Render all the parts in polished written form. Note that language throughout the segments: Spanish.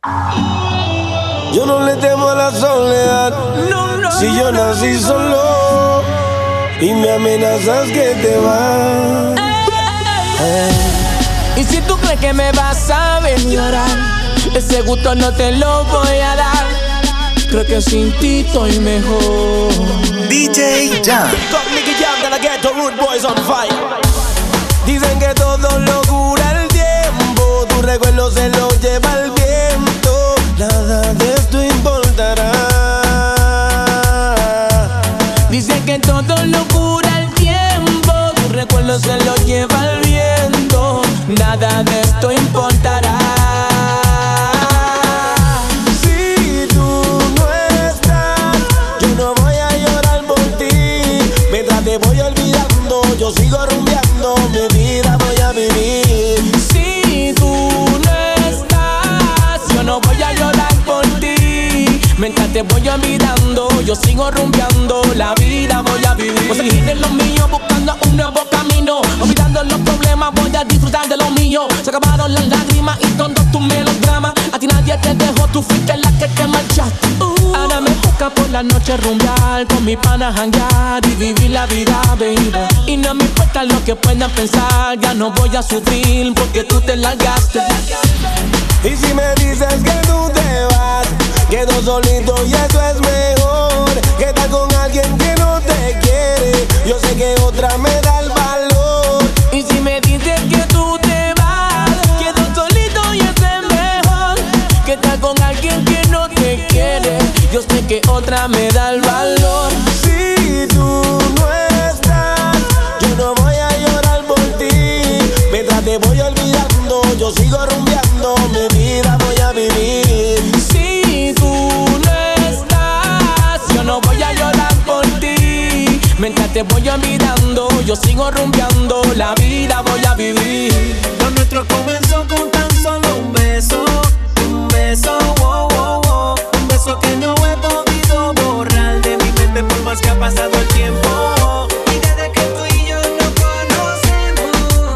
Yo no le temo a la soledad. Si yo nací solo y me amenazas que te vas. Y si tú crees que me vas a ver llorar, ese gusto no te lo voy a dar. Creo que sin ti estoy mejor. DJ Jam. Nicky Jam, gonna get the Rude Boys on fire. Dicen que todo lo cura el tiempo, tu recuerdo se lo lleva el viento. Nada de esto importará. Dicen que todo lo cura el tiempo, tu recuerdo se lo lleva el viento. Nada de esto importará. Si tú no estás, yo no voy a llorar por ti. Mientras te voy olvidando, yo sigo rumbeando, mi vida voy a vivir. Si tú no estás, yo no voy a llorar por ti. Mientras te voy olvidando, yo sigo rumbeando, la vida voy a vivir. Voy a seguir en lo mío, buscando un nuevo camino. Olvidando los problemas, voy a disfrutar de lo mío. Se acabaron las lágrimas y todos tus melodramas. A ti nadie te dejó, tú fuiste la que te marchaste. Ahora me busca por la noche rumbear, con mi pana janguear y vivir la vida, baby. Y no me importa lo que puedan pensar, ya no voy a sufrir porque tú te largaste. Y si me dices que tú te vas, quedo solito y eso es mejor que estar con alguien que no te quiere. Yo sé que otra me da el valor. Y si me dices que tú te vas, quedo solito y eso es mejor que estar con alguien que no te quiere. Yo sé que otra me da el valor. Si tú no estás, yo no voy a llorar por ti. Mientras te voy olvidando, yo sigo rumbeando, mi vida voy a vivir. Si tú no estás, yo no voy a llorar por ti. Mientras te voy olvidando, yo sigo rumbeando, la vida voy a vivir. Lo nuestro comenzó con tan solo un beso, wow, wow, wow. Un beso que no he podido borrar de mi mente por más que ha pasado el tiempo. Y desde que tú y yo nos conocemos,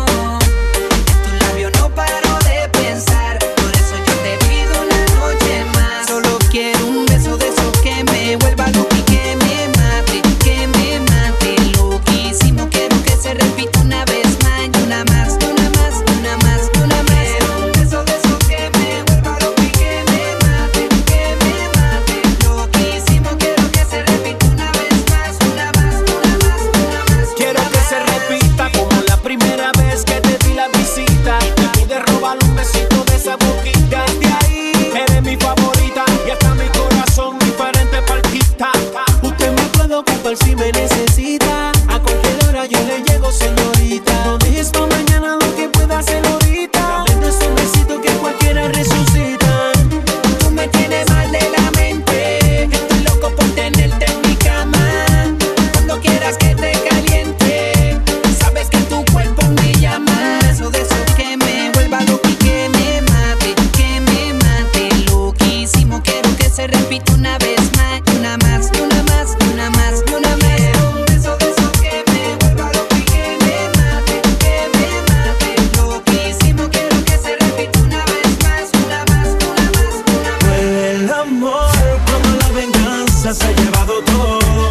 en tu labio no paro de pensar. Por eso yo te pido una noche más. Solo quiero un beso de esos que me vuelva loco y que me mate, que me mate. Loquísimo, quiero que se repita una vez más, y una más, y una más, y una más, y una más. Un beso de esos que me vuelva loco y que me mate, que me mate. Loquísimo, quiero que se repita una vez más, una más, una más, una más. Quiero que se repita como la primera vez que te di la visita. Me pude robar un besito de esa boquita. De ahí eres mi favorita y hasta mi corazón diferente palpita. Usted me puede ocupar si me necesita. A cualquier hora yo le llego, señorita. No dejes pa' mañana lo que pueda hacer ahorita. Dame ese besito que cualquiera resucita. Tú me tienes mal de la mente. Estoy loco por tenerte en mi cama. Cuando quieras que te caliente, sabes que tu cuerpo me llama. Eso de eso que me vuelva loco y que me mate, que me mate. Loquísimo, quiero que se repita una vez más, una más, y una más, y una más, y una más. Un beso de esos que me vuelva loco y que me mate, que me mate. Loquísimo, quiero que se repita una vez más, una más, una más, una más. Duele el amor cuando la venganza se ha llevado todo.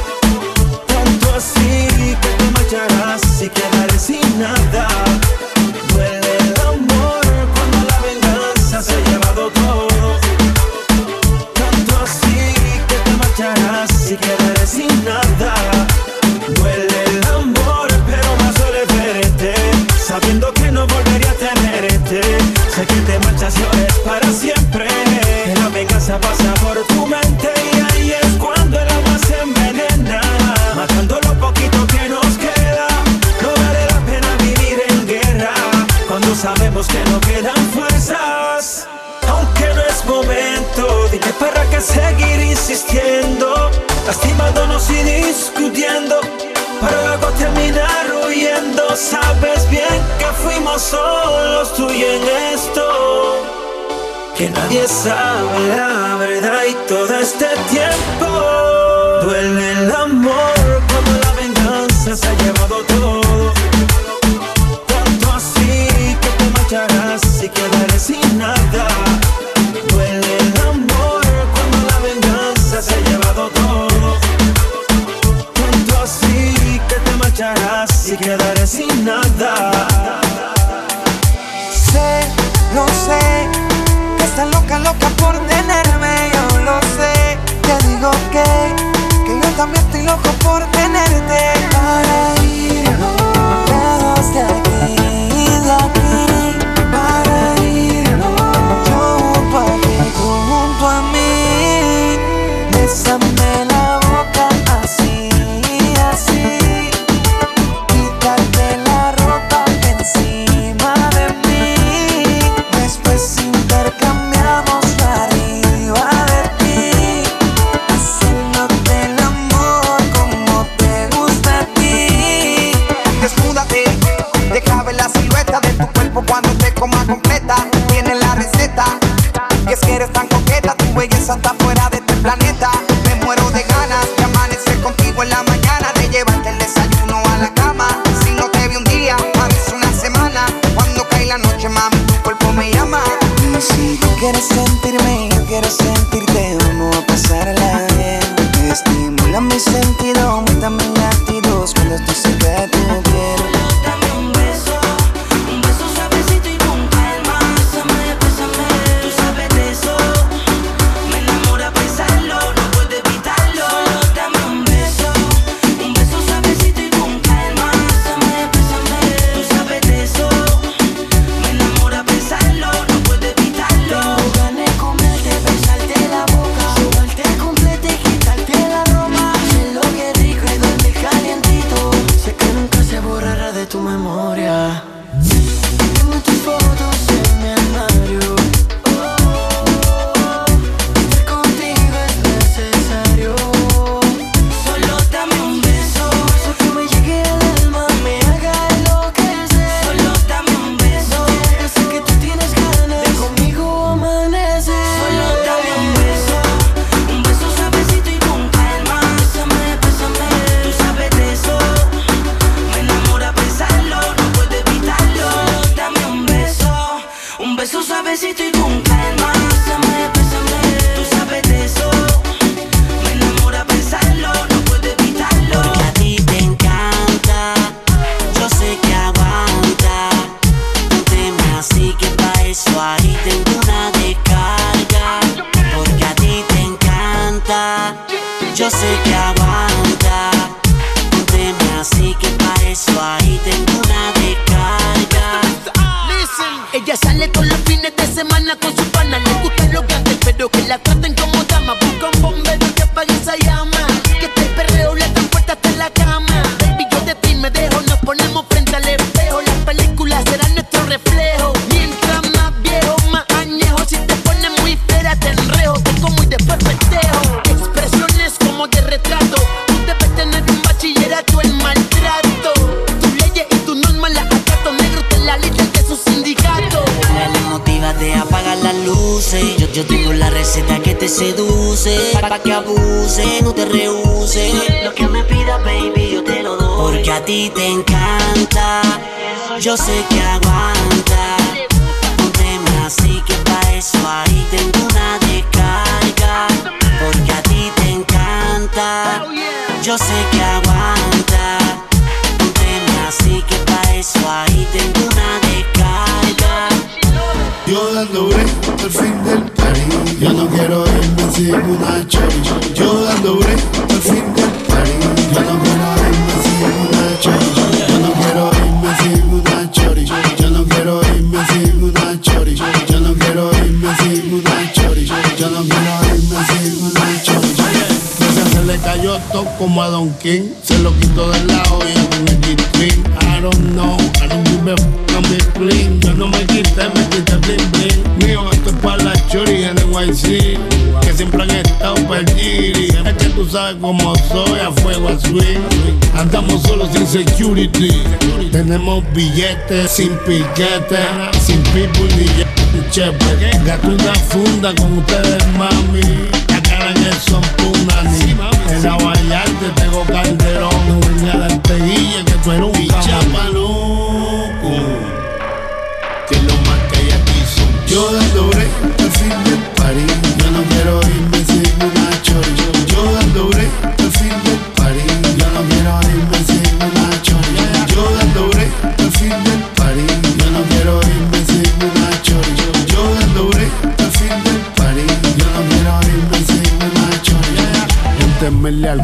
Tanto así que te marcharás y quedaré sin nada. Duele el amor cuando la venganza se ha llevado todo. Tanto así que te marcharás y quedaré sin nada. Duele el amor, pero más duele verte, sabiendo que no volvería a tenerte. Sé que te marchas y ahora es para siempre. Que la venganza pasa por tu mente y ahí es cuando el agua se envenena, matando lo poquito que nos queda. No vale la pena vivir en guerra cuando sabemos que no quedan fuerzas. Aunque no es momento, dime para qué seguir insistiendo, lastimándonos y discutiendo, para luego terminar huyendo. Sabes bien que fuimos solos tú y en esto, que nadie sabe la verdad y todo este tiempo. Duele el amor cuando la venganza se ha llevado todo. Tanto así que te marcharás y quedaré sin nada. Estás loca, loca por tenerme, yo lo sé. Te digo que yo también estoy loco por tenerte. Para irnos lejos de aquí, para irnos yo pa' ti, junto a mí. Bésame la boca así, así. Quítate la ropa encima de mí. Después intercambiamos arriba de ti, haciéndote el amor como te gusta a ti. Desnúdate, deja ver la silueta de tu cuerpo cuando te coma completa. Tienes la receta, y es que eres tan coqueta, tu belleza está fuera de este planeta. Me muero de ganas de amanecer contigo en la mañana, de llevarte el desayuno a la cama. Si no te vi un día, parece una semana. Cuando cae la noche, mami, tu cuerpo me llama. Y si tú quieres sentirme, yo quiero sentirte, vamos a pasarla bien. Estimula mi sentido, aumenta mis latidos cuando estoy cerca de tu piel. Dame un beso suavecito y con calma. Bésame, bésame, tú sabes de eso. Me enamora pensarlo, no puedo evitarlo. Solo dame un beso suavecito y con calma. Bésame, bésame, tú sabes de eso. Me enamora pensarlo, no puedo evitarlo. Tengo ganas de comerte, besarte la boca, sobarte completa y quitarte la ropa. Sé lo que es rico y dormir calientito. Sé que nunca se borrará de tu memoria. Tengo tus fotos en mi armario. Estar contigo es necesario. Solo dame un beso que me llegue al alma, me haga enloquecer. Solo dame un beso, sé que tú tienes ganas de conmigo amanecer. Solo dame un beso suavecito y con calma. Bésame, bésame, tú sabes de eso. Me enamora pensarlo, no puedo evitarlo. Solo dame un beso suavecito y con calma. Bésame, bésame, tú sabes de eso. Me enamora pensarlo, no puedo evitarlo. Porque a ti te encanta, yo sé que aguanta. Pónteme así que pa' eso ahí tengo una descarga. Porque a ti te encanta, yo sé que aguanta. Pónteme así que pa' eso ahí tengo una descarga. Ella sale todos los fines de semana con su pana. Le gustan los grandes, pero que la traten como dama. Busca un bombero que apague esa llama. Que este perreo le dan puerta hasta la cama. Baby, yo de ti me dejo, nos ponemos frente al espejo. Las películas serán nuestro reflejo. Mientras más viejo, más añejo. Si te pones muy fea, te enrejo. Tengo muy después festejo. Expresiones como de retrato. Tú debes tener un bachillerato en maltrato. Tus leyes y tus normas las acato. Negro te la líder de su sindicato. Dale, motívate, apaga las luces. Yo tengo la receta que te seduce. Pa' que abuse, no te rehúse. Lo que me pidas, baby, yo te lo doy. Porque a ti te encanta, yo sé que aguanta. Pónteme así que pa' eso ahí tengo una descarga. Porque a ti te encanta, yo sé que aguanta. Pónteme así que pa' eso ahí tengo una descarga. Yo dando break al fin del party. Yo no quiero irme sin una chori. Yo dando break al fin del party. Yo no quiero irme sin una chori. Yo no quiero irme sin una chori. Yo no quiero irme sin una chori. Yo no quiero irme sin una chori. Yo no quiero irme sin una chori. Se le cayó todo como a Don King. Se lo quitó del lado y en el G-String. I don't know, I don't give a f*** I'm big clean. Yo no me quité bling bling. Mío, esto es para la chori en NYC, que siempre han estado perdidos. Es que tú sabes cómo soy, a fuego a swing. Andamos solos sin security. Tenemos billetes sin piquete, sin people ni chepe. Gato una funda con ustedes, mami. La cara en el son punani. En la Vallarta tengo Calderón. No venía a darte guille que tú eres un chapaloco. Que es lo más que ella quiso. Yo dando break al fin del party. Yo no quiero irme sin una chori. Yo dando break al fin del party. Yo no quiero irme sin una chori. Yo dando break al fin del party. Yo no quiero irme sin una chori. Yo dando break al fin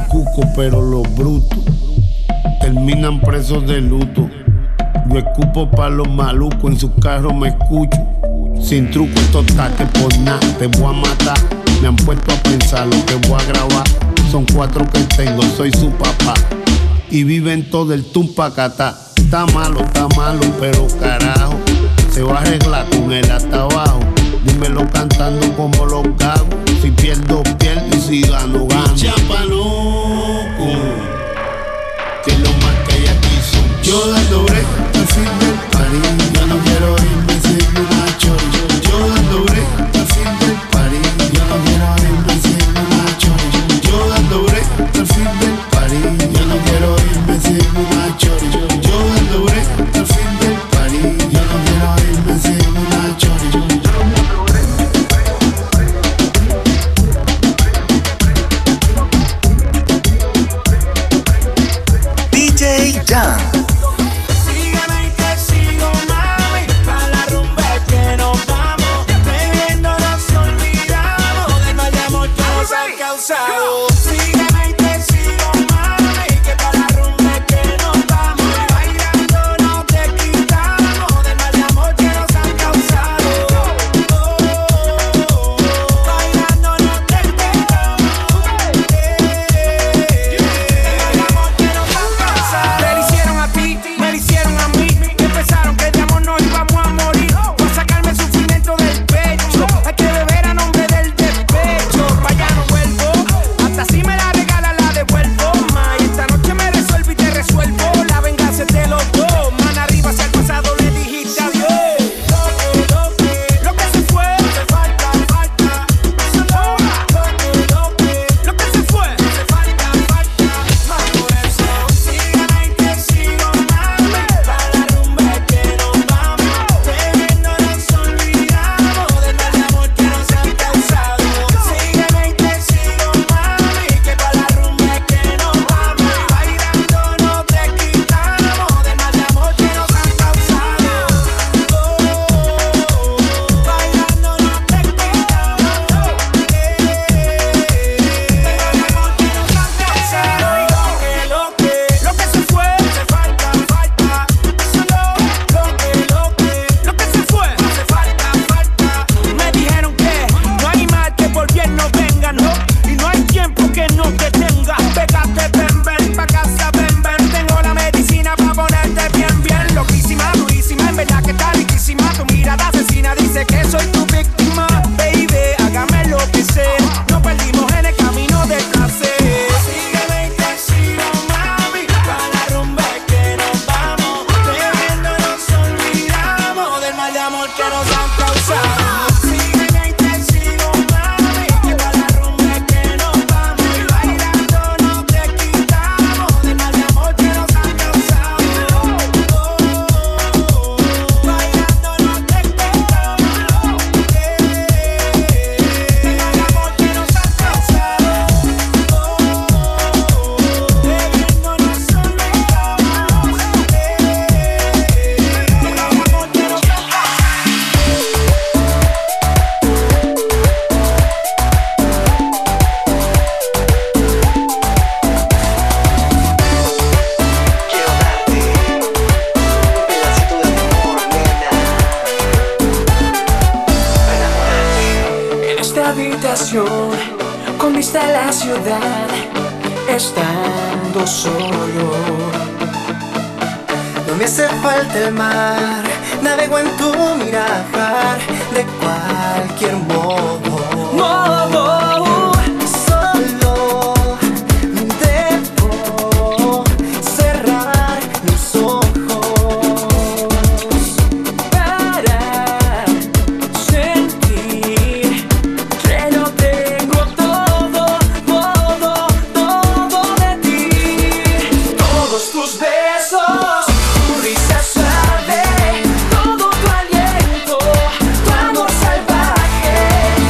cuco, pero los brutos terminan presos de luto. Yo escupo pa' los malucos, en su carro me escucho. Sin truco estos taques por nada, te voy a matar. Me han puesto a pensar lo que voy a grabar. Son 4 que tengo, soy su papá. Y viven todo el tumpacatá. Está malo, pero carajo, se va a arreglar con él hasta abajo. Dímelo cantando como los gagos. Si pierdo, pierdo y si gano, gano. Chapaloco, que es lo más que hay aquí son. Yo dando break al fin del party. Yo no quiero irme sin una chori. Yo dando break al fin del party. Yo no quiero irme sin una chori. Yo dando break al fin del party. Yo no quiero irme sin una chori. Yo dando break al fin del party. Yo no quiero irme sin una chori. DJ Jan. Sígueme y te sigo, mami, pa' la rumba que nos vamos. Bebiendo nos olvidamos del mal de amor que nos ha causado. Sígueme y te sigo, mami, que pa' la rumba que nos vamos. Bailando no te quitamos del mal de amor que nos han causado. Bailando no te quitamos del amor que nos han causado. Te lo hicieron a ti, me lo hicieron a mí. Que pensaron que de amor no íbamos a morir. Voy a sacarme el sufrimiento del pecho. Hay que beber a nombre del despecho. Pa' allá no vuelvo. Hasta si me la regala la devuelvo. Ma, y esta noche me resuelvo y te resuelvo. La venganza es de los dos. Man arriba hacia el pasado le dijiste adiós. Lo que se fue, se falta. Lo que se fue, se falta. Más por eso, sígueme y te sigo, mami. Pa' la rumba que nos vamos. Bebiendo nos olvidamos del mal de amor que nos han causado. Sígueme y te sigo, mami, que pa' la rumba que nos vamos. Bailando no te quitamos del mal de amor que nos han causado. Bailando no te quitamos del mal de amor que nos han causado. Lo que se fue, se falta. Lo que se fue, se falta. Me dijeron que no hay mal que por bien no venga, no. Y no hay tiempo que no te tenga. Pégate, ven, pa' casa, ven. Tengo la medicina pa' ponerte bien. Loquísima, durísima, en verdad que está riquísima. Tu mirada asesina dice que soy tu víctima. Baby, hágame lo que sea. Nos perdimos en el camino del placer. Sígueme y te sigo, mami, pa' la rumba que nos vamos. Bebiendo nos olvidamos del mal de amor que nos han causado. Sígueme y te sigo, mami, que pa' la rumba que nos vamos. Bailando no te quitamos del mal de amor que nos han causado. Bailando no te quitamos del mal de amor que nos han causado. Bebiendo nos olvidamos del amor que nos han Quiero darte un pedacito de amor, nena. Enamorarte. En esta habitación, con vista a la ciudad, estando solo. No me hace falta el mar, navego en tu mirar de cualquier modo. Solo debo cerrar mis ojos para sentir que lo tengo todo de ti. Todos tus besos, tu risa suave, todo tu aliento, tu amor salvaje.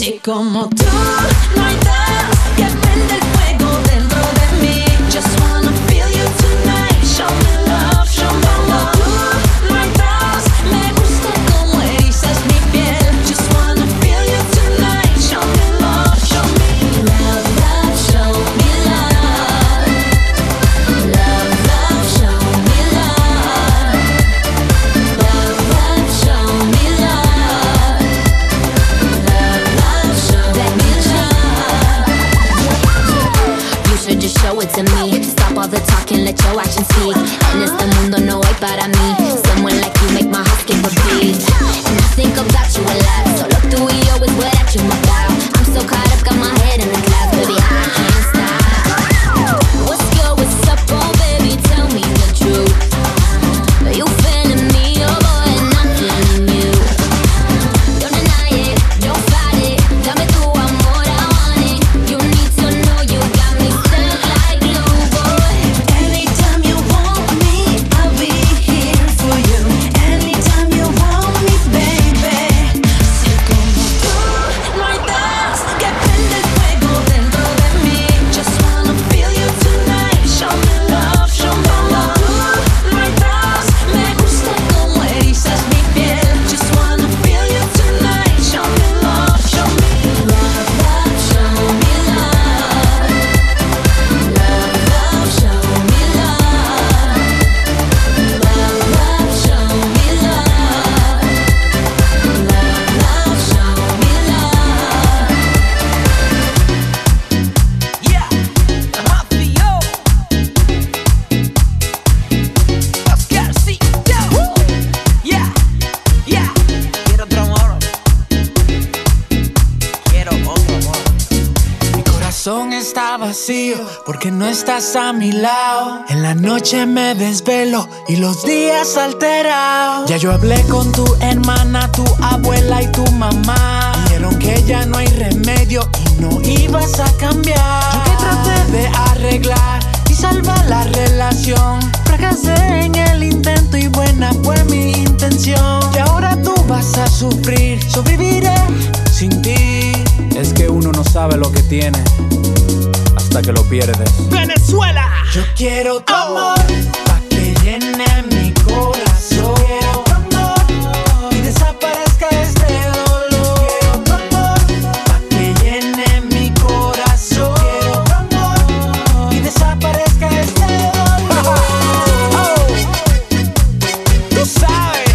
Y como tú no hay nada que prende el fuego dentro de mí. Just wanna feel you tonight. Show me love, show me love. Tú no hay nada, me gusta como erizas mi piel. Just wanna feel you tonight. Show me love, show me love, love, show me love. Love, love, show me love. Love, love, show me love. Love, love, show me love. You should just show it to me. Stop all the talking, let your action speak. En este mundo no hay para mí. Someone like you make my heart skip a beat. And I think about you a lot. Solo tú y yo is what I dream about. I'm so caught up, got my head in the clouds, baby, I can't stop. What's good, what's up, oh baby, tell me the truth. Are you feeling me, oh boy, and I'm feeling you. Don't deny it, don't fight it. Dame tu amor, I want it. You need to know you got me stuck like glue, boy. Anytime you want me, I'll be here for you. Anytime you want me, baby. Si como tú no hay nada que prende el fuego dentro de mí. Just wanna feel you tonight. Show me love, show me love. Tú no hay nada, me gusta como erizas mi piel. Just wanna feel you tonight. Show me love, show me love, love, show me love. Love, love, show me love. Love, love, show me love. Love, love, show me love. Yeah, Mafio. Oscar, sí, yo. Yeah, yeah. Quiero otro amor. Quiero otro amor. Mi corazón está vacío porque no estás a mi lado. En la noche me desvelo y los días alterados. Ya yo hablé con tu hermana, tu abuela y tu mamá. Dijeron que ya no hay remedio y no ibas a cambiar. Yo que traté de arreglar y salvar la relación, fracasé en el intento y buena fue mi intención. Y ahora tú vas a sufrir, sobreviviré sin ti. Es que uno no sabe lo que tiene hasta que lo pierdes. Venezuela. Yo quiero tu amor pa' que llene mi corazón. Quiero tu amor y desaparezca este dolor. Quiero tu amor pa' que llene mi corazón. Quiero tu amor y desaparezca este dolor. Tú sabes.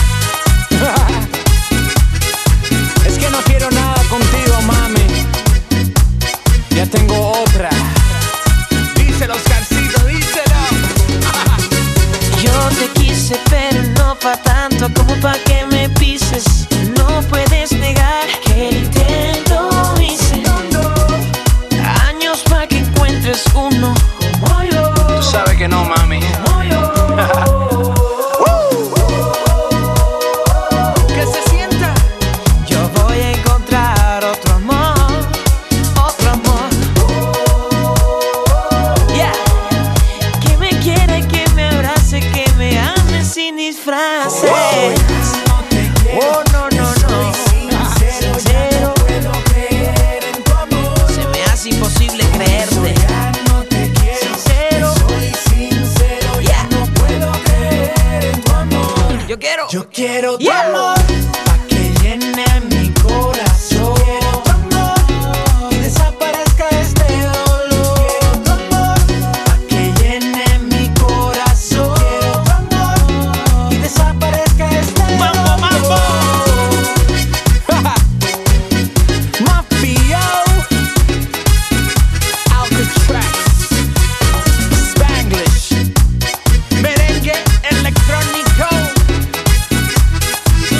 Es que no quiero nada contigo, mami. Ya tengo otra. Díselo, Oscarcito, díselo. Yo te quise, pero no pa' tanto como pa' que me pises. No puedes negar que el intento hice. Años pa' que encuentres uno como yo. Tú sabes que no, mami. Como yo. Que se sienta. Yo voy a encontrar otro amor, otro amor. Yeah. Que me quiera, que me abrace, que me ame sin disfraces. Oh, no, no, no. Sincero. Se me hace imposible creerte. Sincero. Yeah. Yo quiero tu amor pa' que llene mi corazón. Quiero tu amor y desaparezca este dolor. Quiero tu amor pa' que llene mi corazón. Quiero tu amor y desaparezca este dolor. Mambo. Mafio, Alcatraz, Spanglish, merengue electrónico.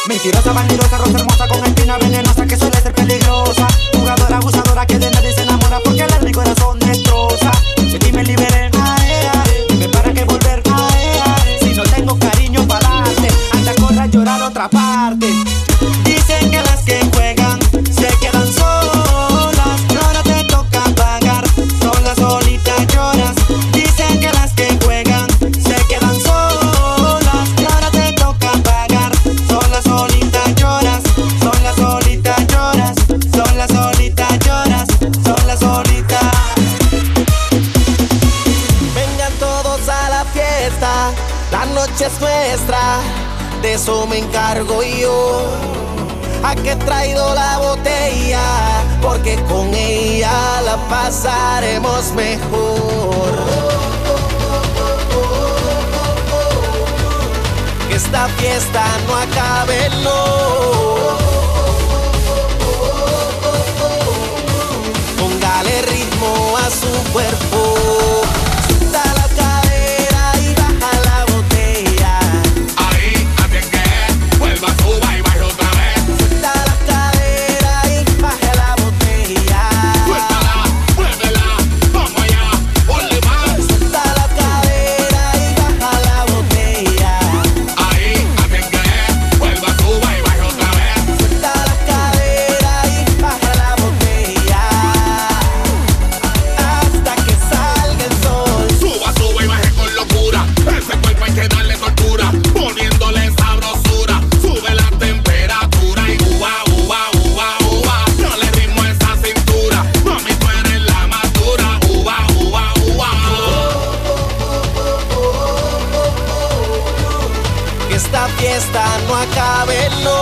Mentirosa, bandidosa, rosa hermosa con espina venenosa que suele ser peligrosa. Jugadora, abusadora que de nadie se enamora porque el alma y corazón destroza. De ti me liberé, ae, ae. Dime para qué volver, ae, ae. Si no tengo cariño para darte, anda, corre a llorar a otra parte. Dicen que las que juegan se quedan solas, y ahora te toca pagar, sola, solita lloras. Dicen que las que juegan se quedan solas, y ahora te toca pagar, sola, solita lloras, sola, solita lloras, sola, solita lloras, sola, solita. Vengan todos a la fiesta, la noche es nuestra, de eso me encargo yo. ¿A qué he traído la botella? Porque con ella la pasaremos mejor. Que esta fiesta no acabe, no. Póngale ritmo a su cuerpo. Suelta la cadera y baja la botella. Ahí, así es que vuelva, suba y baja otra vez. Suelta la cadera y baja la botella. Suéltala, muévela, vamos allá, ponle más. Suelta la cadera y baja la botella. Ahí, así es que vuelva, suba y baja otra vez. Suelta la cadera y baja la botella. Hasta que salga el sol. Suba, suba y baje con locura. Ese cuerpo hay que darle tortura, poniéndole sabrosura. Sube la temperatura y uva, uva, uva, uva. Dale ritmo a esa cintura, mami, tú eres la más dura. Uva, uva, uva. Que esta fiesta no acabe, no.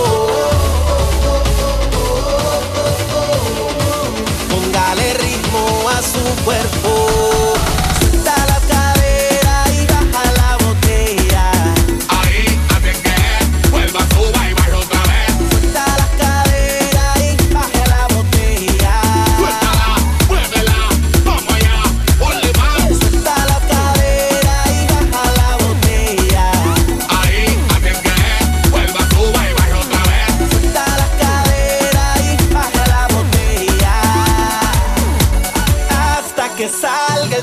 Póngale ritmo a su cuerpo. Suelta la cadera y baja la botella. Ahí, así es que vuelva, suba y baja otra vez. Suelta la cadera y baja la botella. Suéltala, muévela, vamos allá, ponle más. Suelta la cadera y baja la botella. Ahí, así es que vuelva, suba y baja otra vez. Suelta la cadera y baja la botella. Hasta que salga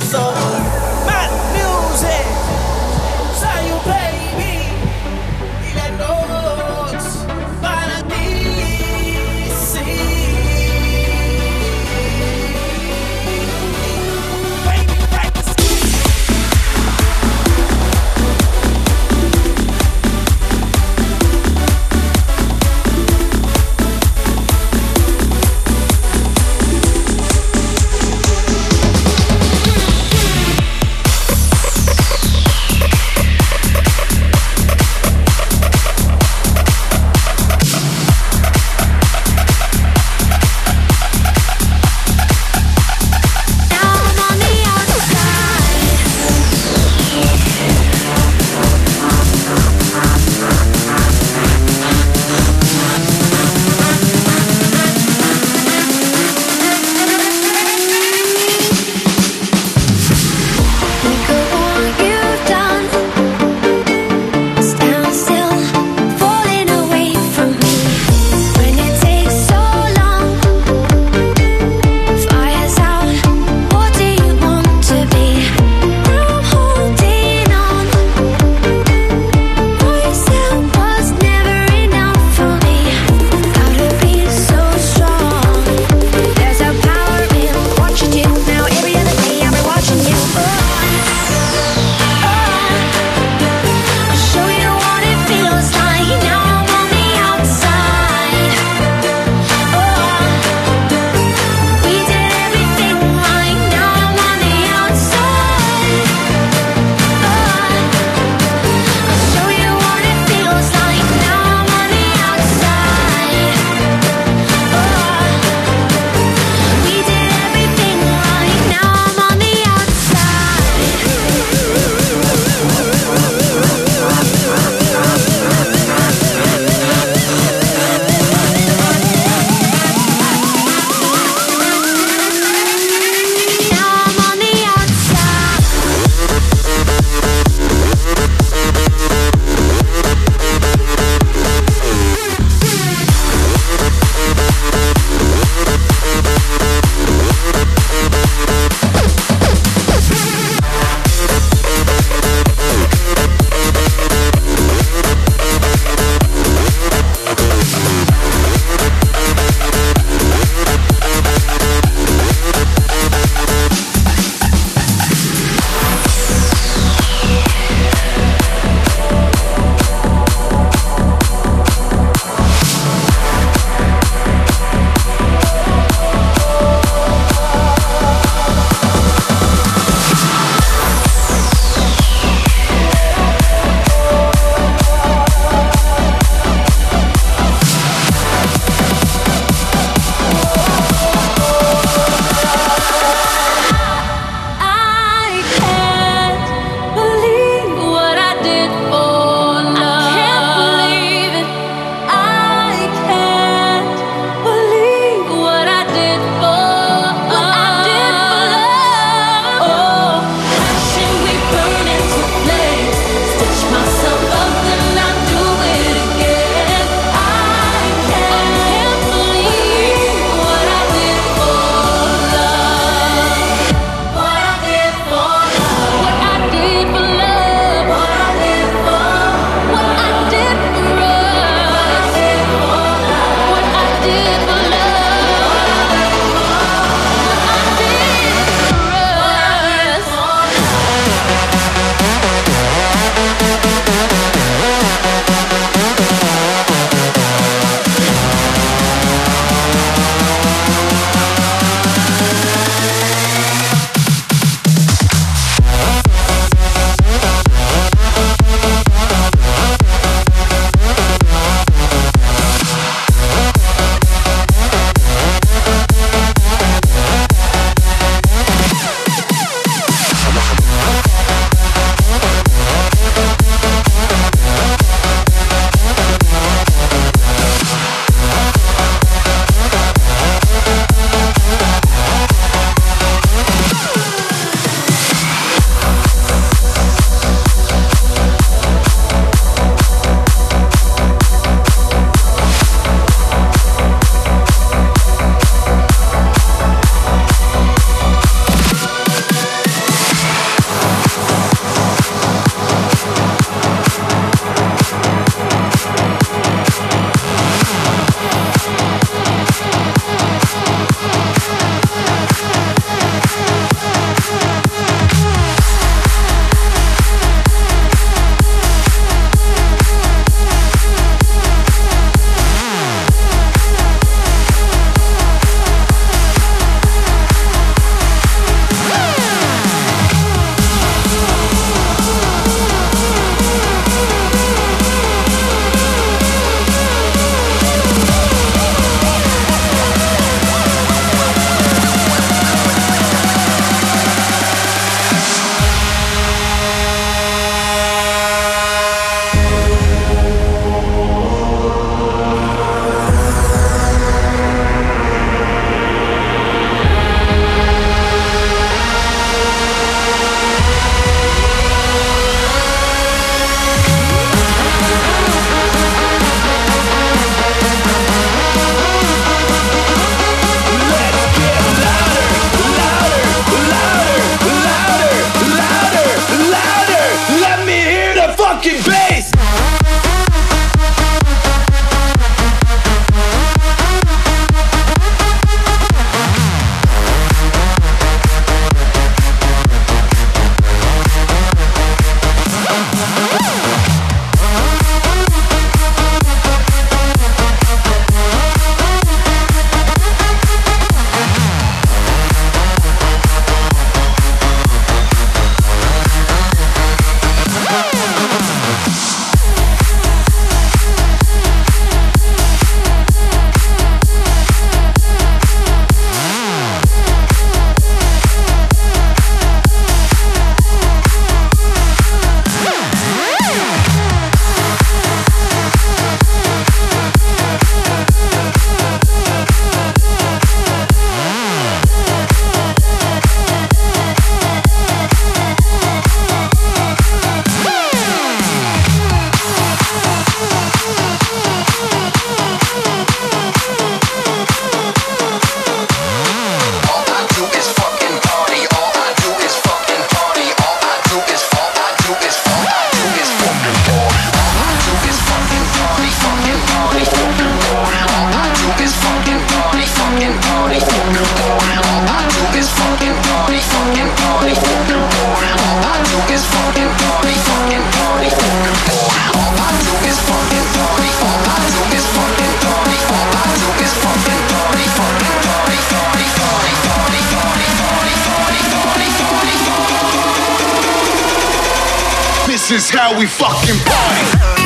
This is how we fucking party.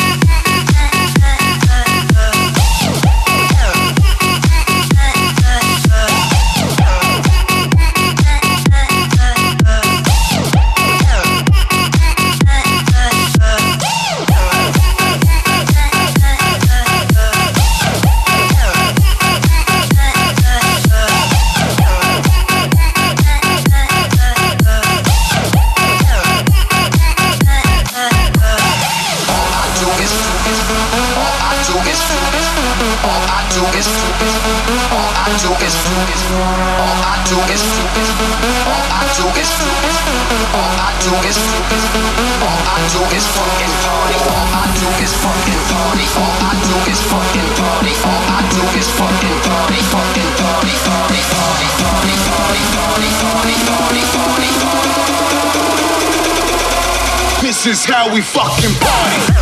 This is how we fucking party.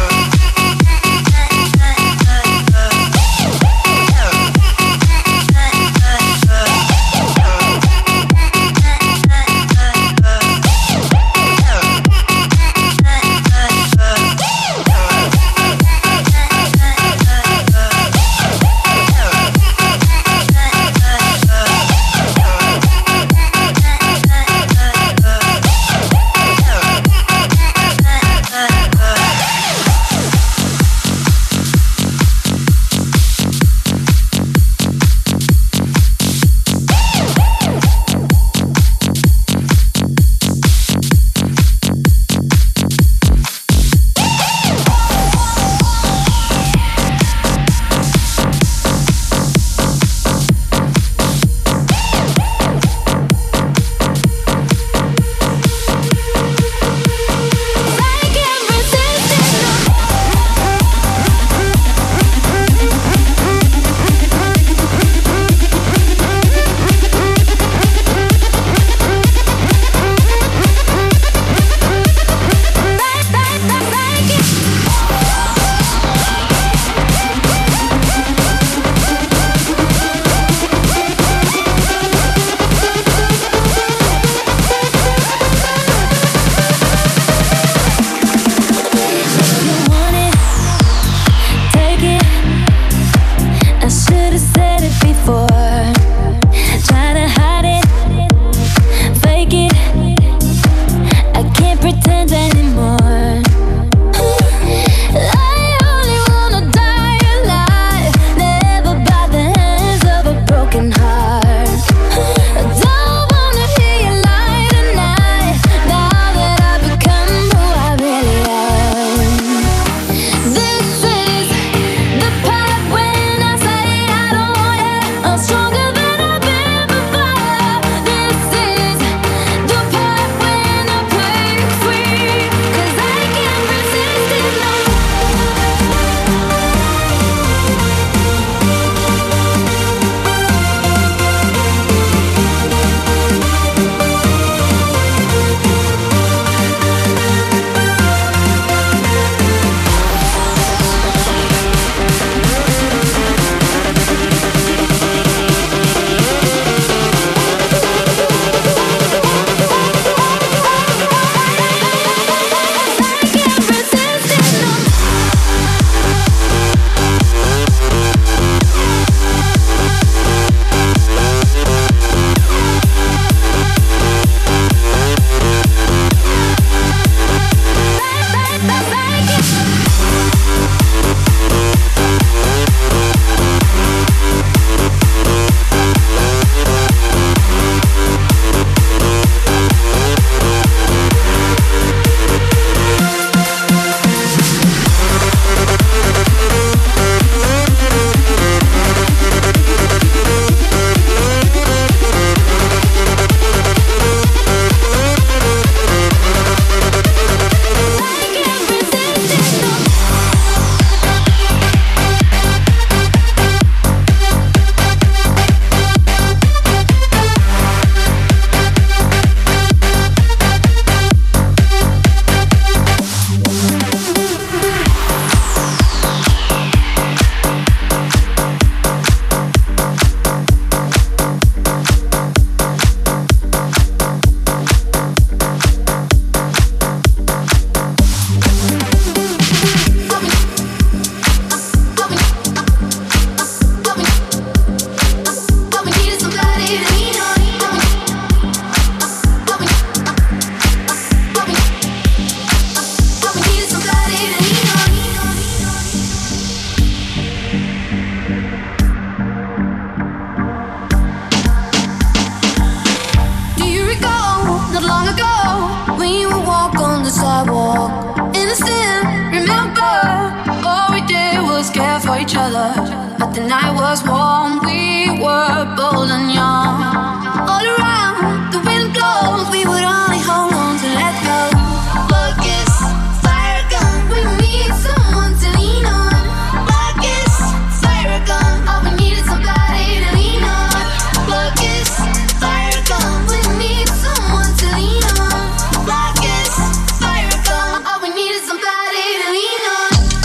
night was warm, we were bold and young. All around, the wind blows, we would only hold on to let go. Focus, fire gun, we need someone to lean on. Focus, fire gun, all we need is somebody to lean on. Focus, fire gun, we need someone to lean on. Focus, fire gun, all we need is somebody to lean on.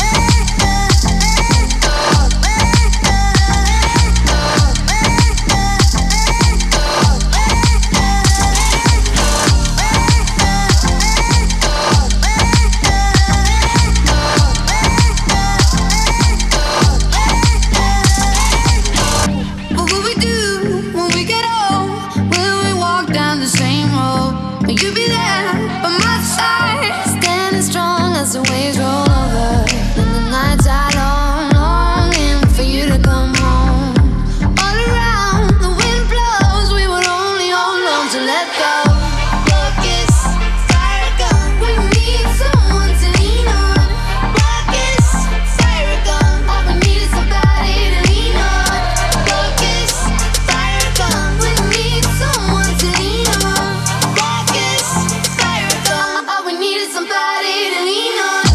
What will we do when we get old? Will we walk down the same road? Will you be there by my side, standing strong as the waves roll over? And the nights are long, longing for you to come home. All around, the wind blows, we would only hold on to let go. Focus, fire gun, we need someone to lean on. Focus, fire gun, all we need is somebody to lean on. Focus, fire gun, we need someone to lean on. Focus, fire gun, all we need is somebody to lean on.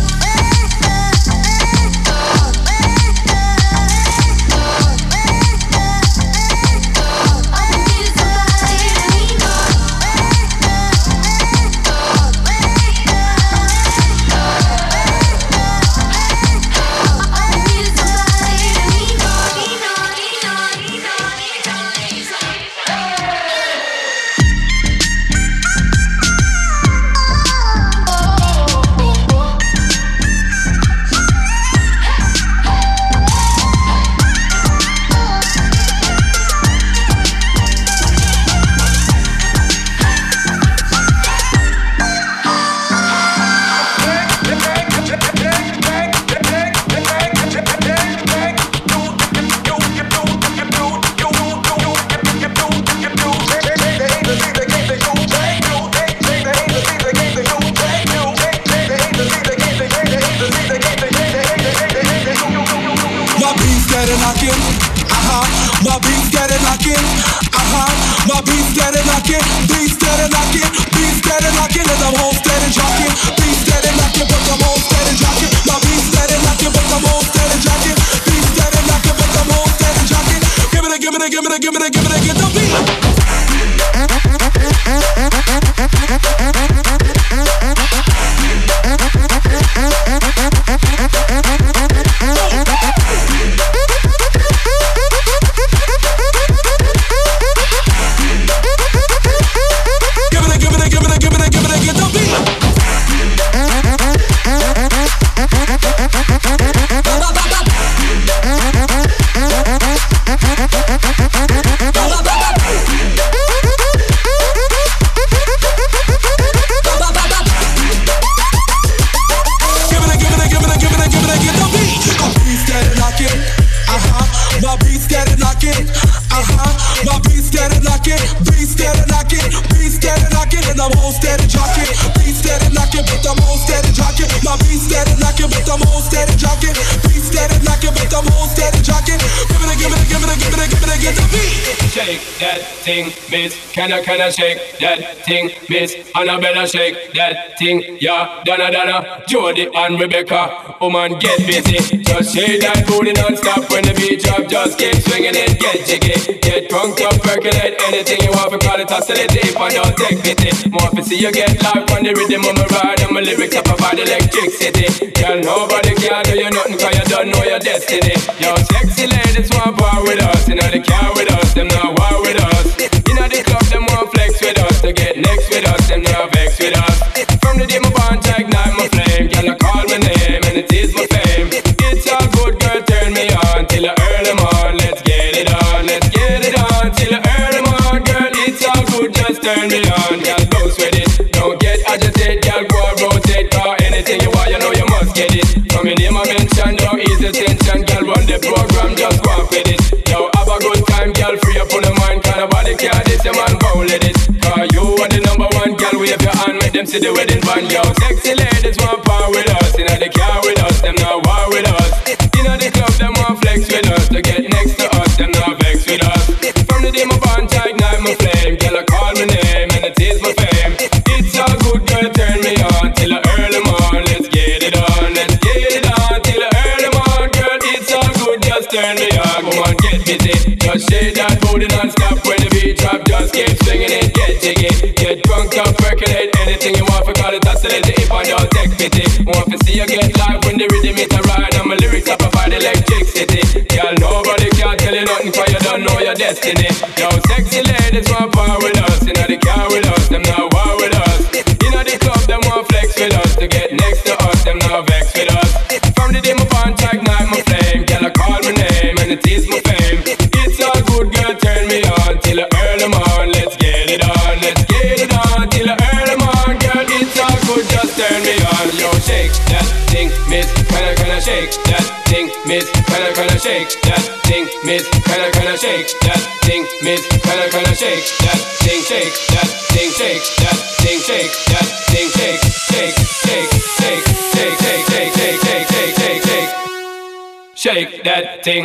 My beats get it knocking, my beats get it knocking, my beats get it knocking, beats get it knocking, beats get it knocking, and I'm home steady jocking. Beats get it knocking, but I'm home steady jocking. My beats get it knocking, but I'm home steady jocking. Beats get it knocking, but I'm home steady jocking. Give it a, give it a, give it a, give it a, give it a, get the beat. Shake that thing, miss. Can I shake that thing, miss? Annabella shake that thing, yeah. Donna, Jody and Rebecca, woman get busy. Just shake that booty non-stop when the beat drop. Just keep swinging it, get jiggy. Get drunk up, percolate anything you want. For call it oscillate if I don't take pity. More to see you get live on the rhythm of my ride. And my lyrics up about electricity. Girl, nobody can do you nothing cause you don't know your destiny. Yo, sexy ladies want power with us. You know they care with us, them not war with us. You know the club, them want flex with us. To get next with us, them not vex with us. From the day my bond to ignite my flame. Girl, I call my name and it is my fame. It's all good, girl, turn me on till I earn them on. Let's get it on, let's get it on till I earn them on. Girl, it's all good, just turn me on. Girl, bounce with it, don't get agitated. Girl, go and rotate, cause anything you want, you know you must get it. From your name I mention, don't ease the tension. Girl, run the program, just go and fit it. Yo, have a good time, girl, free up on the mind. Cause nobody care, this your man, go let it. Cause you are the number one, girl, wave your hand, make them see the wedding band. Yo, sexy ladies want power with us. You know they care with us, them not war with us. You know the club, them want flex with us. To get next just turn me on. Come on, get busy. Just shake that booty non-stop. When the beat drop, just keep swinging it. Get jiggy, get drunk up, percolate. Anything you want, for call it oscillate. If I don't take pity, want to see you get live when the rhythm is a ride. And my lyrics up provide electricity. Girl, nobody can tell you nothing, cause you don't know your destiny. Yo, sexy ladies want power with us. You know the car with us, them not war with us. You know the club, them want flex with us. To get next to us, them not vex with us. From the day my bond track, night my flame. Girl, I call my name and it is my fame. It's all good, girl, turn me on till the early morn. Let's get it on, let's get it on till the early morn. Girl, it's all good, just turn me on. Yo, shake that thing, miss, kinda shake that thing, miss, kinda shake that thing, miss, kinda shake that thing, miss, kinda shake that thing, shake that thing, shake that thing, shake that thing, shake, shake, shake, shake, shake, shake, shake, shake, shake, shake, shake, shake, shake that thing.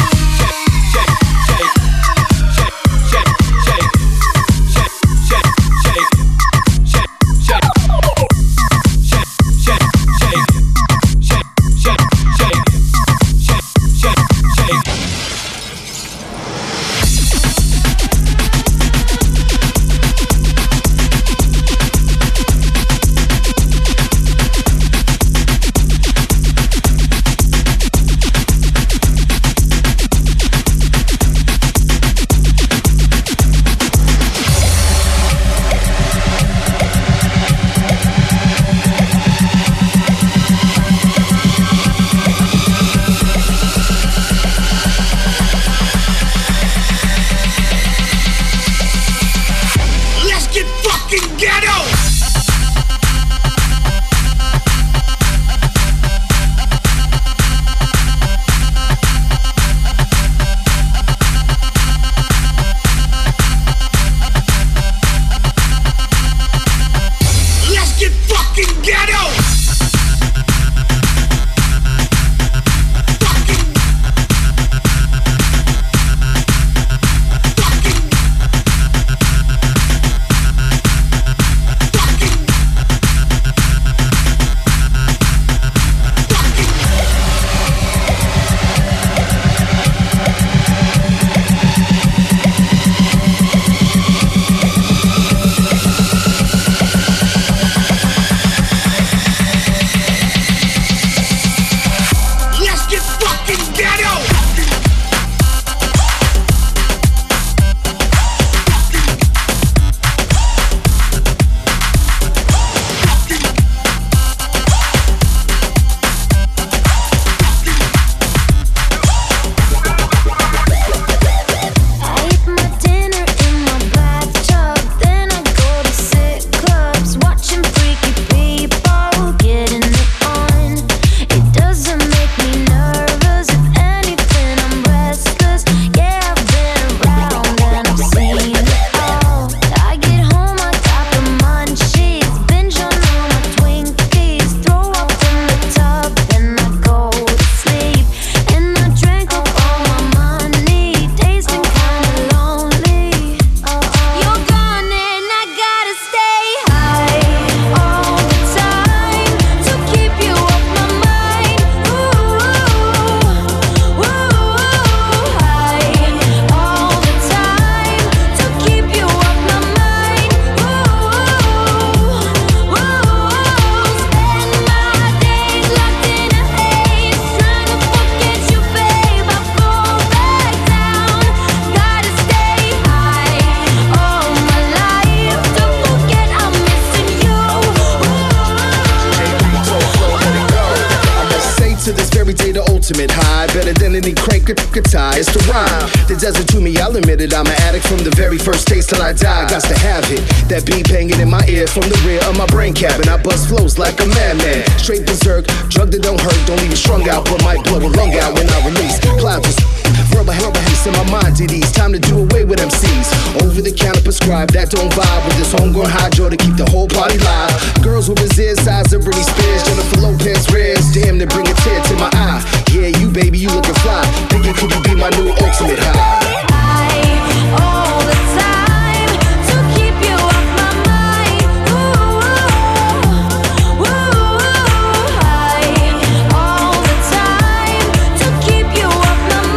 ultimate high, better than any crank could tie. It's the rhyme that does it to me, I'll admit it. I'm an addict from the very first taste till I die. Got to have it, that beat banging in my ear from the rear of my brain cabin. I bust flows like a madman, straight berserk. Drug that don't hurt, don't leave you strung out, but might blow a lung out when I release. Clouds is rubber haze in my mind to these. Time to do away with MCs. Over the counter prescribed, that don't vibe with this homegrown hydro to keep the whole party live. Girls with his ears, size of Britney Spears, Jennifer Lopez rares. Damn, they bring a tear to my eye. Yeah, you baby, you looking fly. Thinking could you be my new ultimate high? All the time to keep you off my mind. Ooh, high. All the time to keep you off my mind.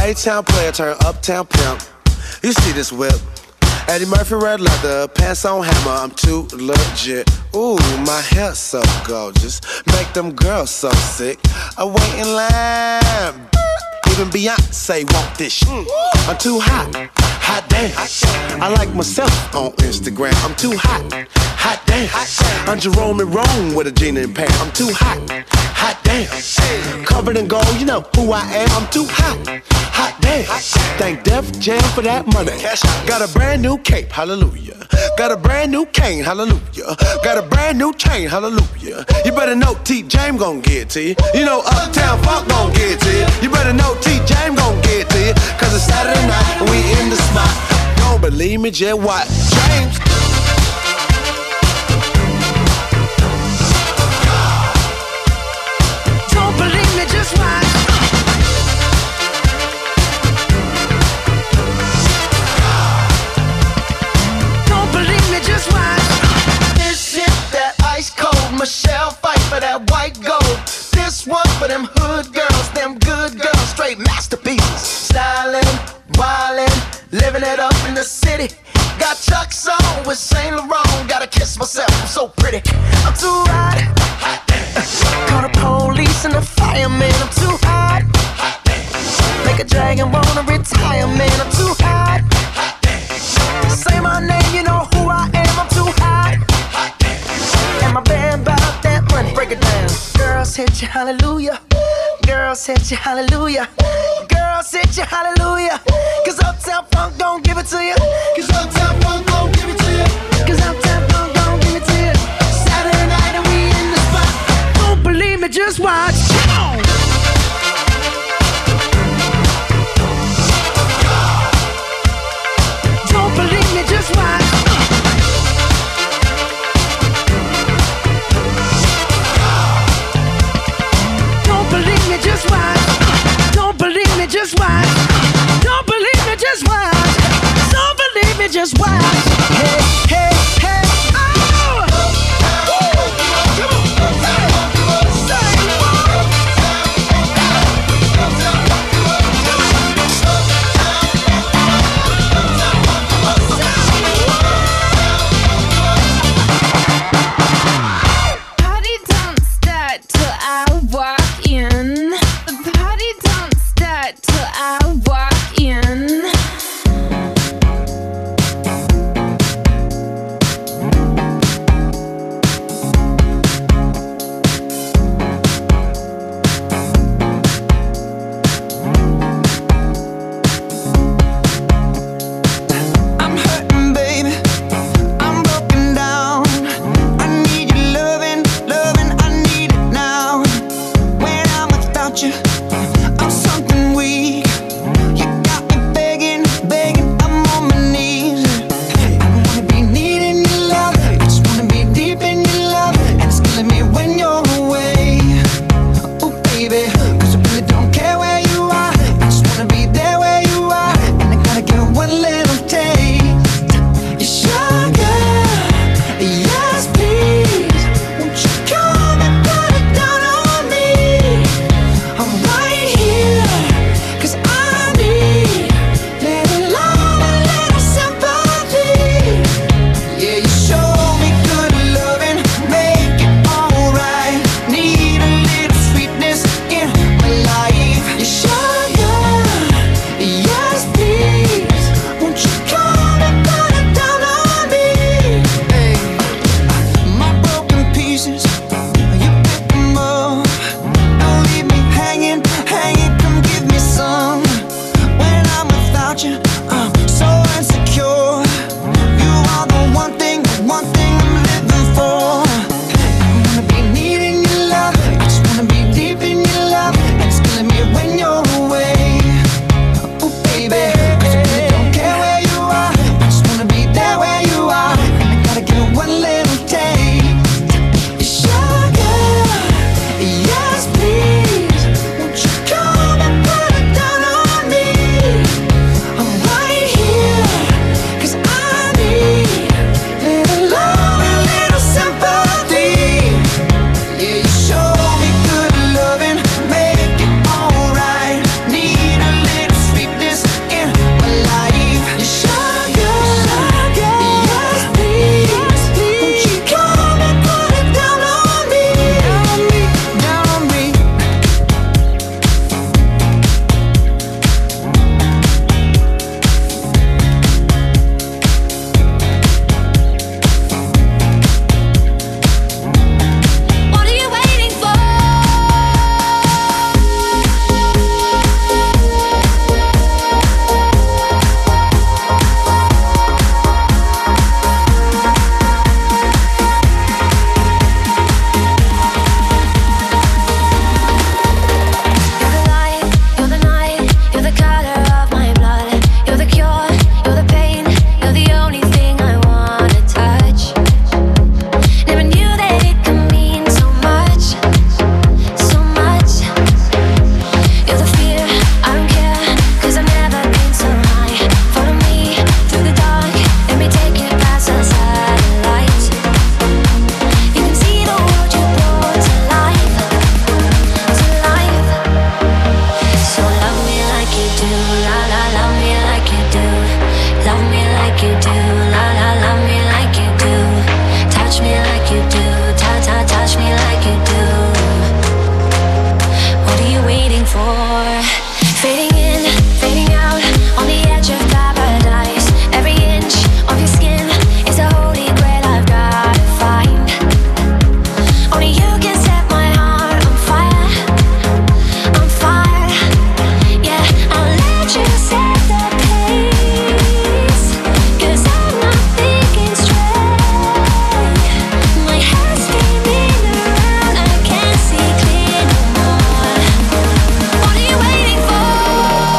A-town player turn uptown pimp. You see this whip? Eddie Murphy red leather, pants on hammer, I'm too legit. Ooh, my hair so gorgeous, make them girls so sick. I wait in line, even Beyonce want this shit. I'm too hot, hot damn. I like myself on Instagram, I'm too hot, hot damn. I'm Jerome and Rome with a jean and pants, I'm too hot, hot damn. Covered in gold, you know who I am, I'm too hot, hot damn. Thank Def Jam for that money. Got a brand new cape, hallelujah. Got a brand new cane, hallelujah. Got a brand new chain, hallelujah. You better know T. James gon' get it to you. You know Uptown Funk gon' get it to you. You better know T. James gon' get it to you. Cause it's Saturday night and we in the spot. Don't believe me, just watch James. Don't believe me, just watch. Don't believe me, just watch. This shit, that ice cold Michelle fight for that white gold. This one for them hood girls, them good girls, straight masterpieces. Stylin', wildin', living it up in the city. Got Chuck's on with Saint Laurent. Gotta kiss myself, I'm so pretty. I'm too hot. Call the police and the fireman. I'm too hot. Make a dragon wanna retire, man. I'm too hot. Say my name, you know who I am. I'm too hot. And my band bout that money. Break it down. Girls hit you, hallelujah. Girls hit you, hallelujah. Girls hit you, hallelujah. Cause Uptown Funk don't give it to you. Cause Uptown Funk don't give it to you. Cause Uptown Funk don't give it to you. Saturday night and we in the spot. Don't believe me, just watch. Come on. Don't believe me, just watch. Don't believe me, just watch. Don't believe me, just watch. Don't believe me, just watch. Don't believe me, just watch. Hey, hey, hey, oh! Party don't start till I walk in. The party don't start till I walk in. I'm hurting, baby. I'm broken down. I need your loving, loving. I need it now. When I'm without you, I'm something weak. You got me begging, begging. I'm on my knees. I don't wanna be needing your love. I just wanna be deep in your love. And it's killing me when you're away. Oh, baby, 'cause I really don't care where you are. I just wanna be there where you are. And I gotta get one little taste. Your sugar, yes please. Won't you come and put it down on me? I'm more. Fading in, fading out, on the edge of paradise. Every inch of your skin is a holy grail I've gotta find. Only you can set my heart on fire, on fire. Yeah, I'll let you set the pace, 'cause I'm not thinking straight. My head's spinning around, I can't see clear no more. What are you waiting for?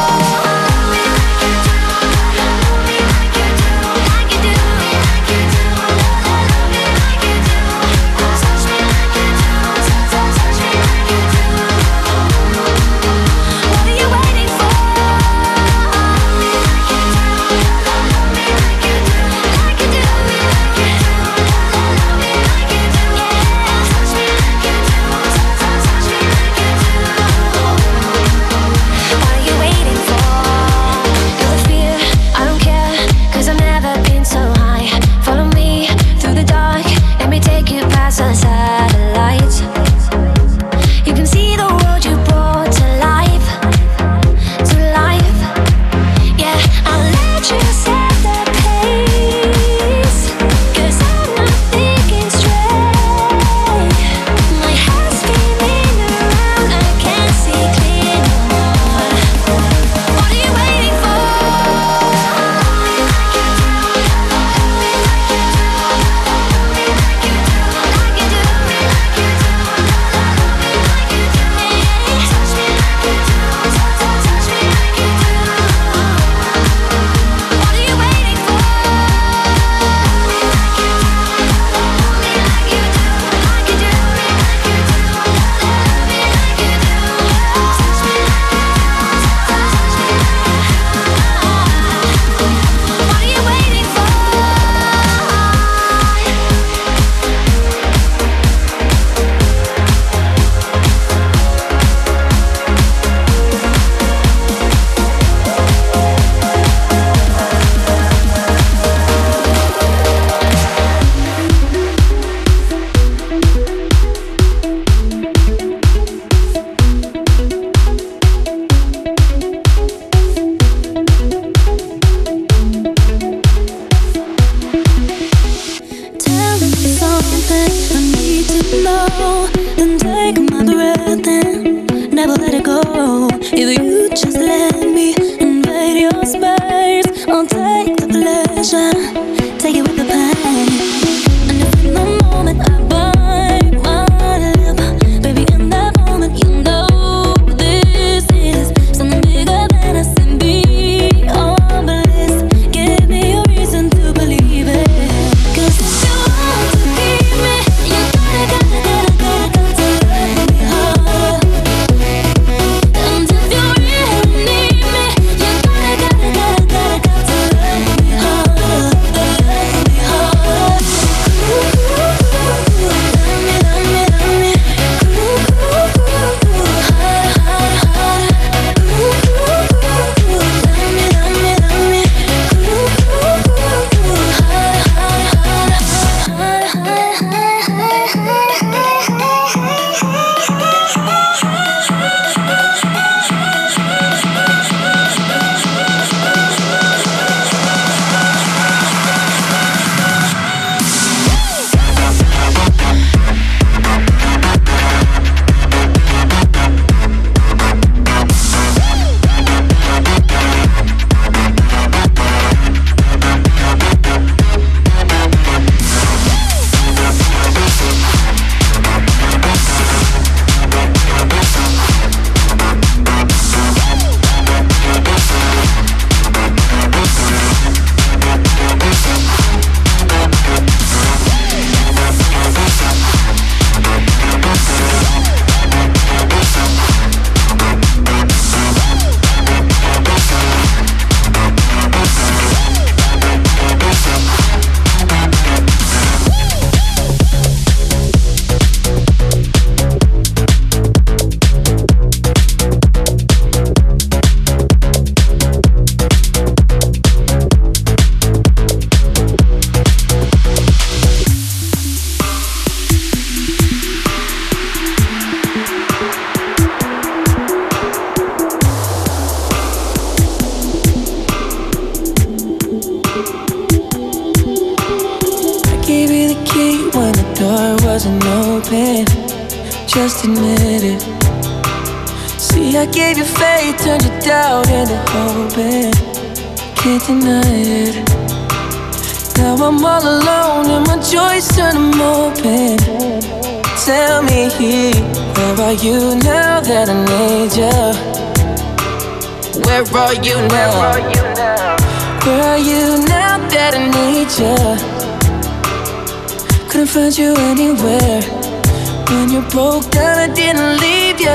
just admit it. See, I gave you faith, turned your doubt into hope, and can't deny it. Now I'm all alone and my joys turn them open. Tell me, where are you now that I need you? Where are you now? Where are you now that I need you? Couldn't find you anywhere. When you broke down, I didn't leave you.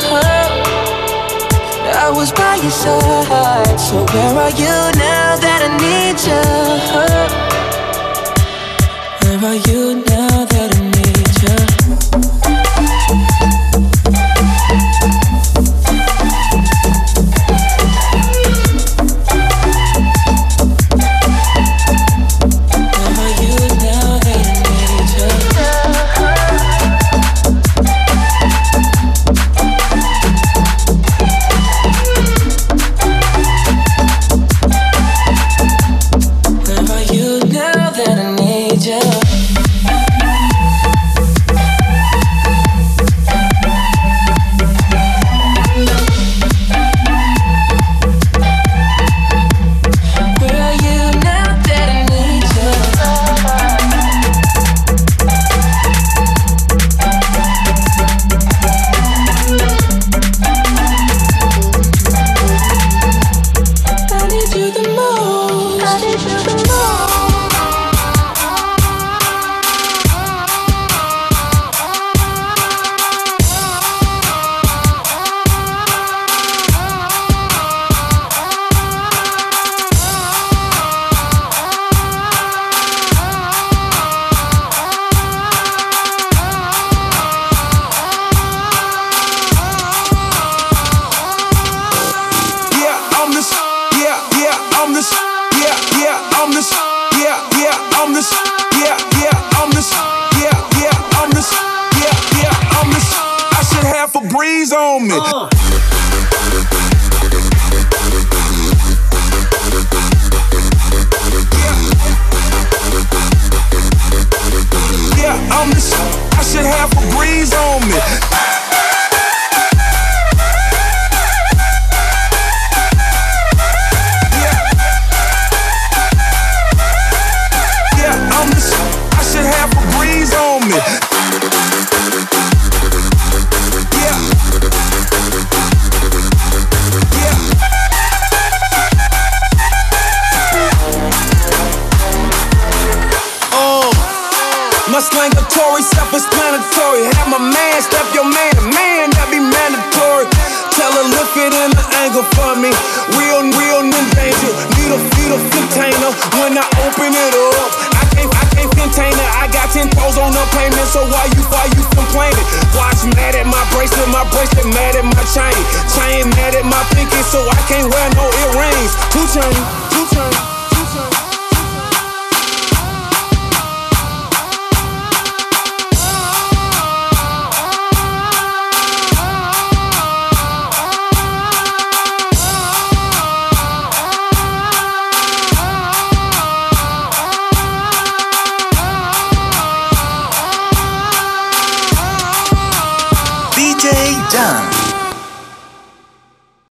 I was by your side. So where are you now that I need you? Where are you now that I need you? My slangatory, self-explanatory. Have my man step your man, that be mandatory. Tell her lift it in the angle for me. Real in danger. Need a container when I open it up. I can't contain it. I got 10 toes on the payment, so why you complaining? Watch mad at my bracelet mad at my chain mad at my pinky, so I can't wear no earrings. Two chain. DJ Jan.